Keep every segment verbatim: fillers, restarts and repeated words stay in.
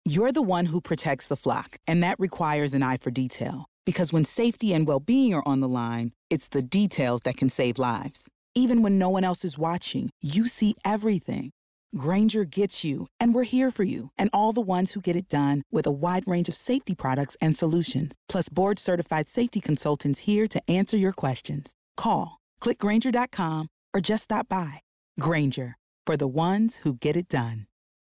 You're the one who protects the flock, and that requires an eye for detail. Because when safety and well-being are on the line, it's the details that can save lives. Even when no one else is watching, you see everything. Grainger gets you, and we're here for you, and all the ones who get it done with a wide range of safety products and solutions, plus board-certified safety consultants here to answer your questions. Call, click Grainger dot com, or just stop by. Grainger, for the ones who get it done.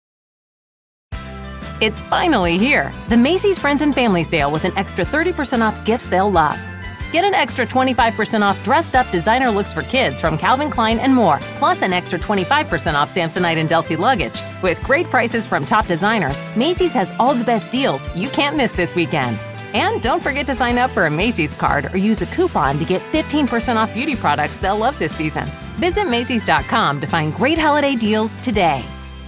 It's finally here, the Macy's Friends and Family Sale with an extra thirty percent off gifts they'll love. Get an extra twenty-five percent off dressed-up designer looks for kids from Calvin Klein and more, plus an extra twenty-five percent off Samsonite and Delsey luggage. With great prices from top designers, Macy's has all the best deals you can't miss this weekend. And don't forget to sign up for a Macy's card or use a coupon to get fifteen percent off beauty products they'll love this season. Visit Macys dot com to find great holiday deals today.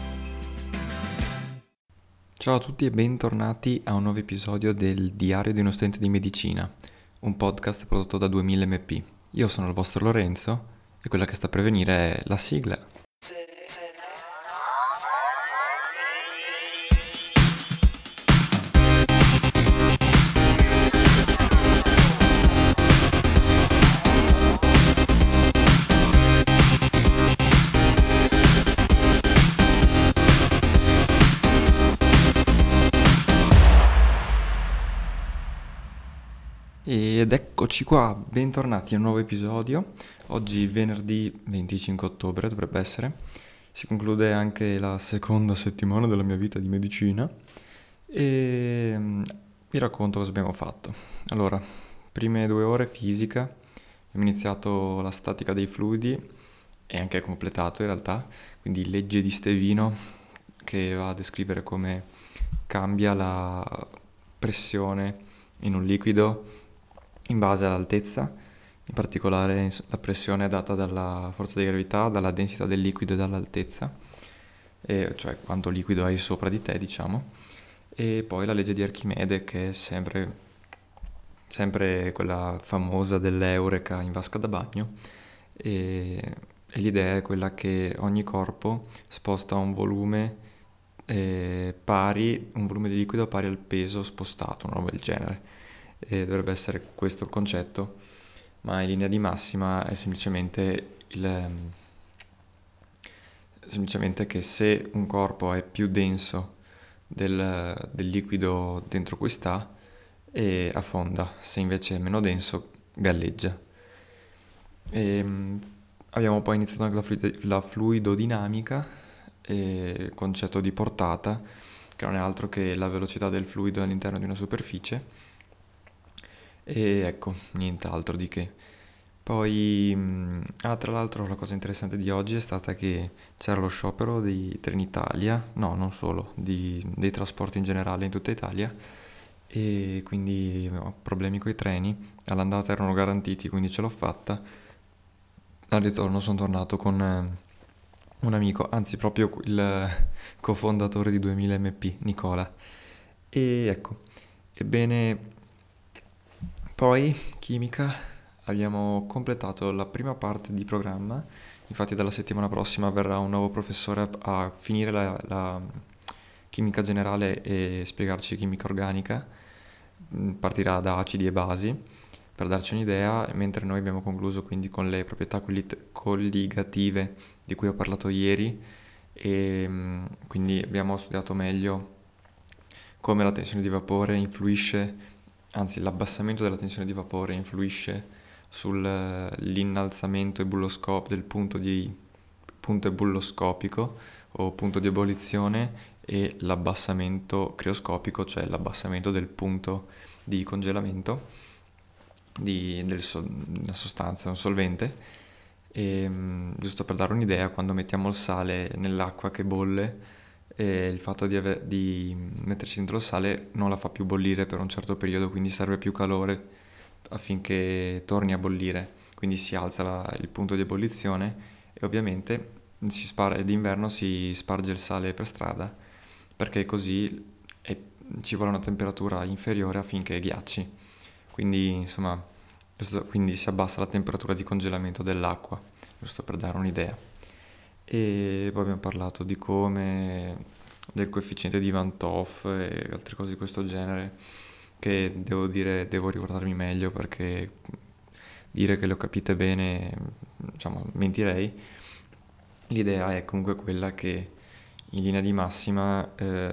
Ciao a tutti e bentornati a un nuovo episodio del Diario di uno studente di medicina, un podcast prodotto da duemila emme pi. Io sono il vostro Lorenzo e quella che sta per venire è la sigla. Ed eccoci qua, bentornati a un nuovo episodio. Oggi venerdì venticinque ottobre dovrebbe essere. Si conclude anche la seconda settimana della mia vita di medicina e vi racconto cosa abbiamo fatto. Allora, prime due ore fisica, abbiamo iniziato la statica dei fluidi e anche completato in realtà, quindi legge di Stevino che va a descrivere come cambia la pressione in un liquido in base all'altezza, in particolare la pressione è data dalla forza di gravità, dalla densità del liquido e dall'altezza, e cioè quanto liquido hai sopra di te, diciamo. E poi la legge di Archimede, che è sempre, sempre quella famosa dell'eureka in vasca da bagno, e, e l'idea è quella che ogni corpo sposta un volume eh, pari, un volume di liquido pari al peso spostato, una roba del genere. E dovrebbe essere questo il concetto, ma in linea di massima è semplicemente il semplicemente che se un corpo è più denso del, del liquido dentro cui sta e affonda, se invece è meno denso galleggia. E abbiamo poi iniziato anche la, fluid- la fluidodinamica, e concetto di portata, che non è altro che la velocità del fluido all'interno di una superficie. E ecco, nient'altro di che. Poi, ah, tra l'altro la cosa interessante di oggi è stata che c'era lo sciopero di Trenitalia, no, non solo, di, dei trasporti in generale in tutta Italia, e quindi ho problemi coi treni. All'andata erano garantiti, quindi ce l'ho fatta. Al ritorno sono tornato con eh, un amico, anzi proprio il cofondatore di duemila emme pi, Nicola. E ecco, ebbene... Poi, chimica, abbiamo completato la prima parte di programma, infatti dalla settimana prossima verrà un nuovo professore a, a finire la, la chimica generale e spiegarci chimica organica, partirà da acidi e basi per darci un'idea, mentre noi abbiamo concluso quindi con le proprietà colligative di cui ho parlato ieri e quindi abbiamo studiato meglio come la tensione di vapore influisce. Anzi, l'abbassamento della tensione di vapore influisce sull'innalzamento ebulloscopico del punto di punto ebulloscopico o punto di ebollizione e l'abbassamento crioscopico, cioè l'abbassamento del punto di congelamento di del so, una sostanza, un solvente. E, giusto per dare un'idea, quando mettiamo il sale nell'acqua che bolle, e il fatto di, ave- di metterci dentro il sale non la fa più bollire per un certo periodo, quindi serve più calore affinché torni a bollire, quindi si alza la- il punto di ebollizione e ovviamente si spar- d'inverno si sparge il sale per strada perché così è- ci vuole una temperatura inferiore affinché ghiacci, quindi insomma giusto- quindi si abbassa la temperatura di congelamento dell'acqua, giusto per dare un'idea. E poi abbiamo parlato di come del coefficiente di Van Toff e altre cose di questo genere, che devo dire, devo ricordarmi meglio, perché dire che le ho capite bene, diciamo, mentirei. L'idea è comunque quella che in linea di massima, eh,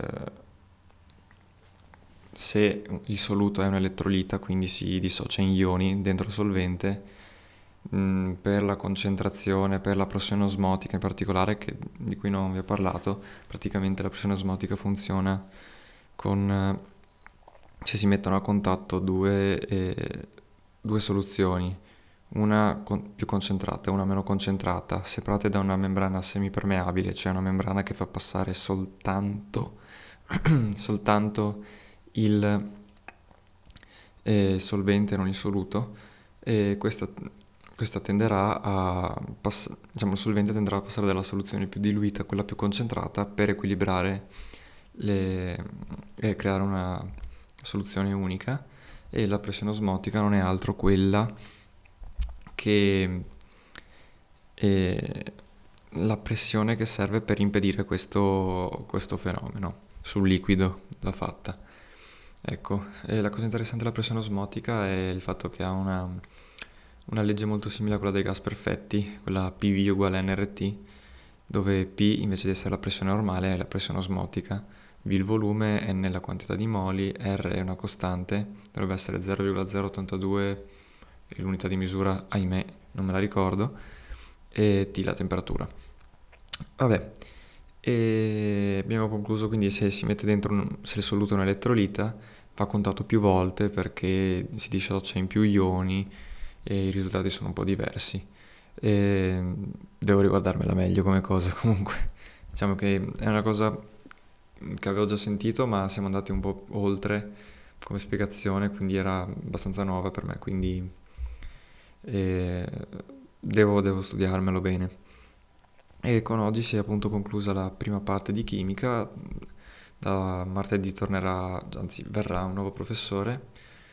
se il soluto è un elettrolita, quindi si dissocia in ioni dentro il solvente, mh, per la concentrazione, per la pressione osmotica in particolare, che, di cui non vi ho parlato, praticamente la pressione osmotica funziona con, eh, se si mettono a contatto due, eh, due soluzioni, una con- più concentrata e una meno concentrata, separate da una membrana semipermeabile, cioè una membrana che fa passare soltanto, soltanto il eh, solvente, non il soluto, e questa, questa tenderà a pass- diciamo, il solvente tenderà a passare dalla soluzione più diluita a quella più concentrata per equilibrare le, e creare una soluzione unica. E la pressione osmotica non è altro quella che è la pressione che serve per impedire questo, questo fenomeno sul liquido va fatta. Ecco, e la cosa interessante della pressione osmotica è il fatto che ha una, una legge molto simile a quella dei gas perfetti, quella P V uguale a N R T, dove P invece di essere la pressione normale è la pressione osmotica, V il volume, N la quantità di moli, R è una costante, dovrebbe essere zero virgola zero ottantadue, e l'unità di misura, ahimè, non me la ricordo, e T la temperatura. Vabbè, e abbiamo concluso, quindi se si mette dentro, un, se il soluto è un elettrolita, va contato più volte perché si dissocia in più ioni e i risultati sono un po' diversi. E devo riguardarmela meglio come cosa, comunque diciamo che è una cosa che avevo già sentito, ma siamo andati un po' oltre come spiegazione, quindi era abbastanza nuova per me, quindi eh, devo, devo studiarmelo bene. E con oggi si è appunto conclusa la prima parte di chimica. Da martedì tornerà, anzi verrà un nuovo professore,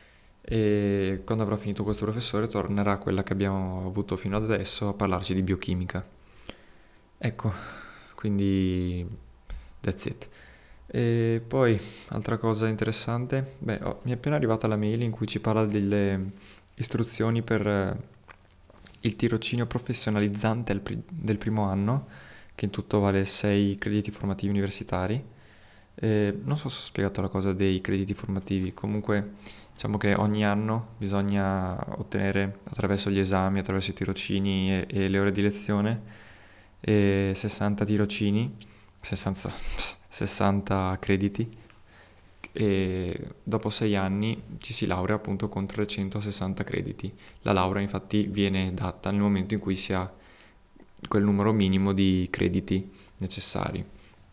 e quando avrà finito questo professore tornerà quella che abbiamo avuto fino ad adesso a parlarci di biochimica. Ecco, quindi that's it. E poi, altra cosa interessante, beh, oh, mi è appena arrivata la mail in cui ci parla delle istruzioni per eh, il tirocinio professionalizzante al pri- del primo anno, che in tutto vale sei crediti formativi universitari. Eh, non so se ho spiegato la cosa dei crediti formativi, comunque diciamo che ogni anno bisogna ottenere attraverso gli esami, attraverso i tirocini e, e le ore di lezione eh, sessanta tirocini, sessanta, sessanta crediti, e dopo sei anni ci si laurea appunto con trecentosessanta crediti. La laurea infatti viene data nel momento in cui si ha quel numero minimo di crediti necessari.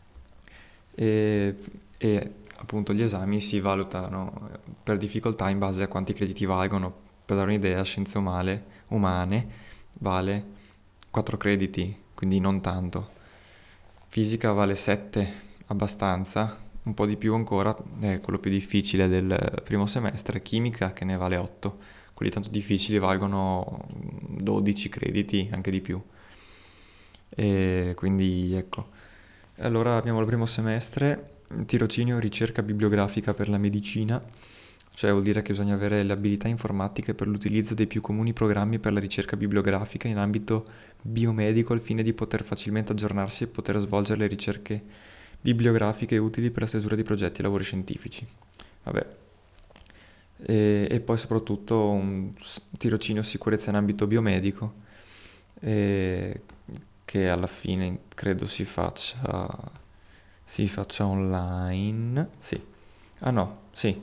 E, e appunto gli esami si valutano per difficoltà in base a quanti crediti valgono. Per dare un'idea, scienze umane, umane vale quattro crediti, quindi non tanto. Fisica vale sette, abbastanza, un po' di più ancora, è quello più difficile del primo semestre. Chimica che ne vale otto, quelli tanto difficili valgono dodici crediti, anche di più. E quindi ecco. Allora abbiamo il primo semestre, tirocinio ricerca bibliografica per la medicina, cioè vuol dire che bisogna avere le abilità informatiche per l'utilizzo dei più comuni programmi per la ricerca bibliografica in ambito biomedico al fine di poter facilmente aggiornarsi e poter svolgere le ricerche bibliografiche utili per la stesura di progetti e lavori scientifici. Vabbè. E, e poi soprattutto un tirocinio sicurezza in ambito biomedico, e che alla fine credo si faccia si faccia online. Sì. Ah no, sì.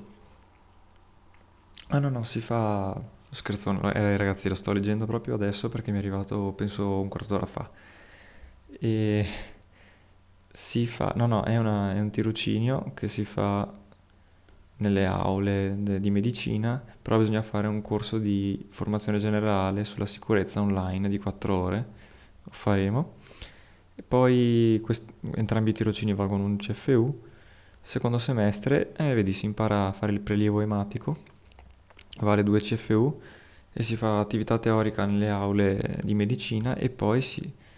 Ah no no, si fa scherzo, no, eh, ragazzi, lo sto leggendo proprio adesso perché mi è arrivato penso un quarto d'ora fa. E si fa, no no, è, una, è un tirocinio che si fa nelle aule de- di medicina, però bisogna fare un corso di formazione generale sulla sicurezza online di quattro ore, lo faremo. E poi quest- entrambi i tirocini valgono un C F U. Secondo semestre, eh, vedi, si impara a fare il prelievo ematico, vale due C F U, e si fa attività teorica nelle aule di medicina, e poi si,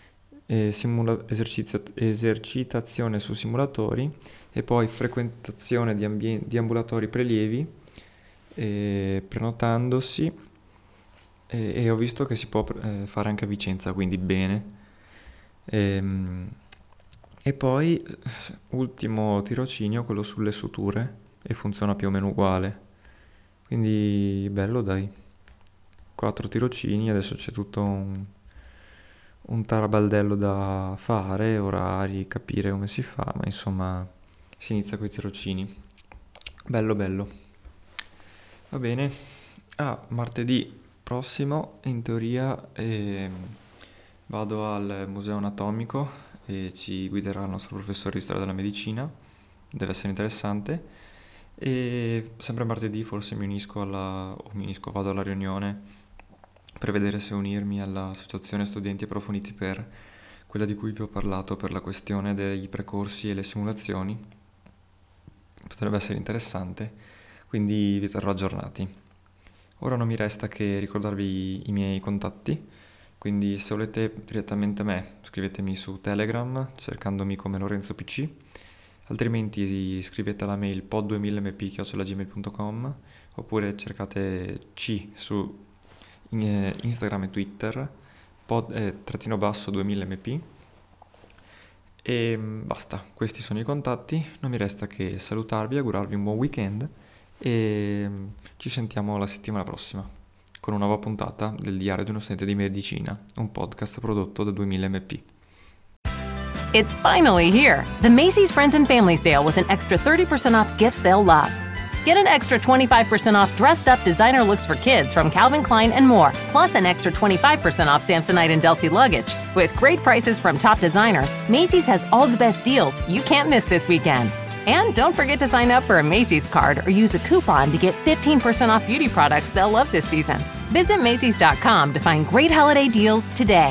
e simula- esercizio- esercitazione su simulatori e poi frequentazione di, ambien- di ambulatori prelievi e prenotandosi e, e ho visto che si può eh, fare anche a Vicenza, quindi bene. Ehm, E poi, ultimo tirocinio, quello sulle suture, e funziona più o meno uguale. Quindi, bello dai. Quattro tirocini, adesso c'è tutto un, un tarabaldello da fare, orari, capire come si fa, ma insomma, si inizia con i tirocini. Bello, bello. Va bene. Ah, martedì prossimo, in teoria, ehm, vado al Museo Anatomico e ci guiderà il nostro professore di storia della medicina, deve essere interessante. E sempre martedì forse mi unisco alla, o mi unisco, vado alla riunione per vedere se unirmi all'associazione studenti approfonditi per quella di cui vi ho parlato, per la questione dei precorsi e le simulazioni. Potrebbe essere interessante, quindi vi terrò aggiornati. Ora non mi resta che ricordarvi i miei contatti. Quindi se volete direttamente me, scrivetemi su Telegram cercandomi come Lorenzo P C, altrimenti scrivete alla mail pod duemila m p chiocciola gmail punto com oppure cercate C su Instagram e Twitter, pod, eh, trattino basso duemila m p e basta, questi sono i contatti, non mi resta che salutarvi, augurarvi un buon weekend e ci sentiamo la settimana prossima con una nuova puntata del Diario di uno studente di medicina, un podcast prodotto da duemila M P. It's finally here, the Macy's Friends and Family Sale with an extra thirty percent off gifts they'll love. Get an extra twenty-five percent off dressed up designer looks for kids from Calvin Klein and more, plus an extra twenty-five percent off Samsonite and Delsey luggage. With great prices from top designers, Macy's has all the best deals you can't miss this weekend. And don't forget to sign up for a Macy's card or use a coupon to get fifteen percent off beauty products they'll love this season. Visit Macy's dot com to find great holiday deals today.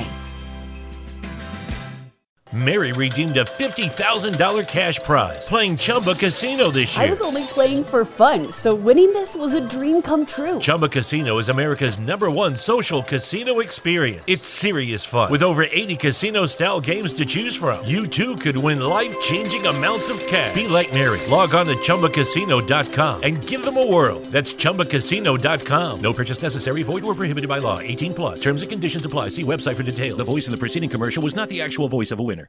Mary redeemed a fifty thousand dollars cash prize playing Chumba Casino this year. I was only playing for fun, so winning this was a dream come true. Chumba Casino is America's number one social casino experience. It's serious fun. With over eighty casino-style games to choose from, you too could win life-changing amounts of cash. Be like Mary. Log on to Chumba Casino dot com and give them a whirl. That's Chumba Casino dot com. No purchase necessary. Void or prohibited by law. eighteen plus. Terms and conditions apply. See website for details. The voice in the preceding commercial was not the actual voice of a winner.